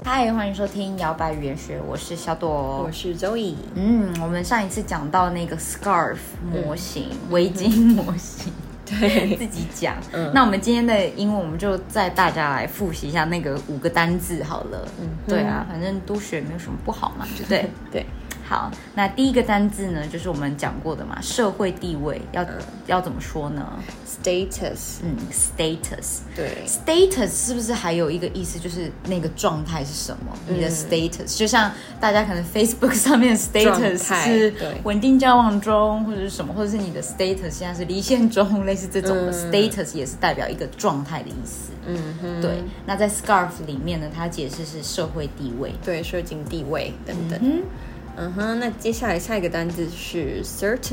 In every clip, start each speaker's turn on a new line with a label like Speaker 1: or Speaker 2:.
Speaker 1: 嗨，欢迎收听摇摆语言学，我是小朵，
Speaker 2: 我是 Zoe。
Speaker 1: 我们上一次讲到那个 scarf 模型，围巾模型，
Speaker 2: 对，
Speaker 1: 自己讲。那我们今天的英文，我们就带大家来复习一下那个5个单字好了。对啊，反正多学没有什么不好嘛，对不对？
Speaker 2: 对。
Speaker 1: 好，那第一个单字呢，就是我们讲过的嘛，社会地位要怎么说呢
Speaker 2: ？Status。
Speaker 1: status。对
Speaker 2: ，status
Speaker 1: 是不是还有一个意思，就是那个状态是什么？你的 status，就像大家可能 Facebook 上面的 status 是稳定交往中，或者是什么，或者是你的 status 现在是离线中，类似这种的status 也是代表一个状态的意思。对。那在 scarf 里面呢，它解释是社会地位，
Speaker 2: 对，社经地位等等。那接下来下一个单字是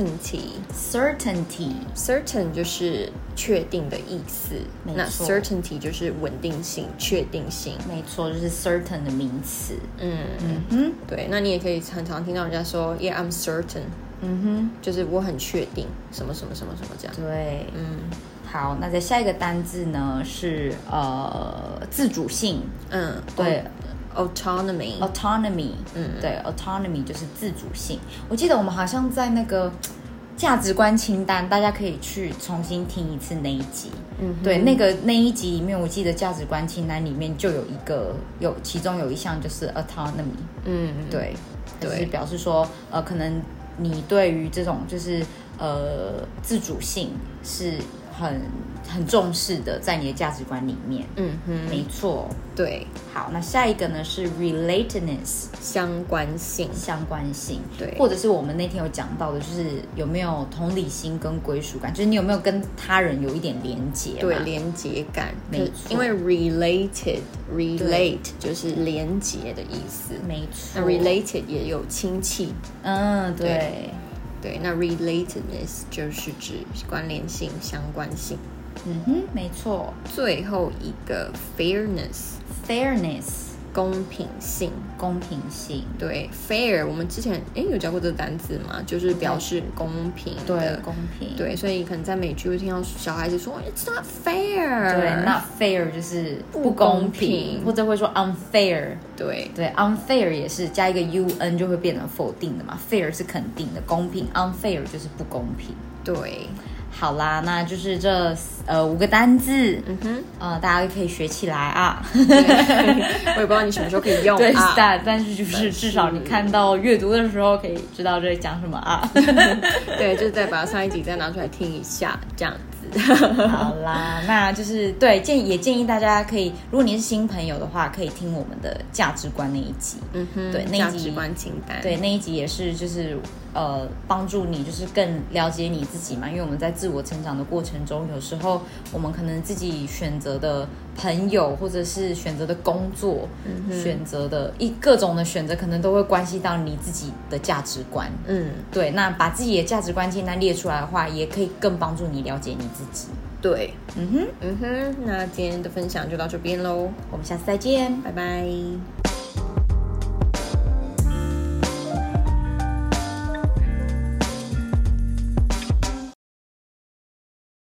Speaker 2: certainty。certain 就是确定的意思，那 certainty 就是稳定性、确定性。
Speaker 1: 没错，就是 certain 的名词。
Speaker 2: 对，那你也可以常常听到人家说 ，Yeah, I'm certain。就是我很确定什么什么什么什么这样。
Speaker 1: 对，好，那在下一个单字呢是自主性。对。
Speaker 2: autonomy，
Speaker 1: 对 autonomy 就是自主性。我记得我们好像在那个价值观清单，大家可以去重新听一次那一集。对，那一集里面，我记得价值观清单里面就其中有一项就是 autonomy。对，就是表示说可能你对于这种就是自主性是很重视的，在你的价值观里面。没错。
Speaker 2: 对。
Speaker 1: 好，那下一个呢是 relatedness，
Speaker 2: 相关性。
Speaker 1: 对，或者是我们那天有讲到的，就是有没有同理心跟归属感，就是你有没有跟他人有一点连结。
Speaker 2: 对，连结感。
Speaker 1: 没错。
Speaker 2: 因为 relate 就是连结的意思。
Speaker 1: 没错。
Speaker 2: 那 related 也有亲戚。对，那 relatedness 就是指关联性、相关性。
Speaker 1: 没错。
Speaker 2: 最后一个 fairness， 公平性。对 fair 我们之前有教过这个单字吗？就是表示公平的。
Speaker 1: 对，公平。
Speaker 2: 对，所以可能在美剧会听到小孩子说 It's not fair。
Speaker 1: 对， not fair 就是不公平，或者会说 unfair。对 unfair 也是加一个 un 就会变成否定的嘛， fair 是肯定的，公平 unfair 就是不公平。
Speaker 2: 对。
Speaker 1: 好啦，那就是这5个单字，大家可以学起来啊。
Speaker 2: 我也不知道你什么时候可以用啊。
Speaker 1: 对，但是就是至少你看到阅读的时候可以知道这讲什么啊。
Speaker 2: 对，就是再把上一集再拿出来听一下，这样子。
Speaker 1: 好啦，那就是对也建议大家可以，如果你是新朋友的话，可以听我们的价值观那一集。对，那一集
Speaker 2: 价值观清单。
Speaker 1: 对，那一集也是就是帮助你就是更了解你自己嘛，因为我们在自我成长的过程中，有时候我们可能自己选择的朋友或者是选择的工作，选择的各种的选择，可能都会关系到你自己的价值观。对，那把自己的价值观清单列出来的话，也可以更帮助你了解你自己。
Speaker 2: 对。那今天的分享就到这边咯，
Speaker 1: 我们下次再见，
Speaker 2: 拜拜。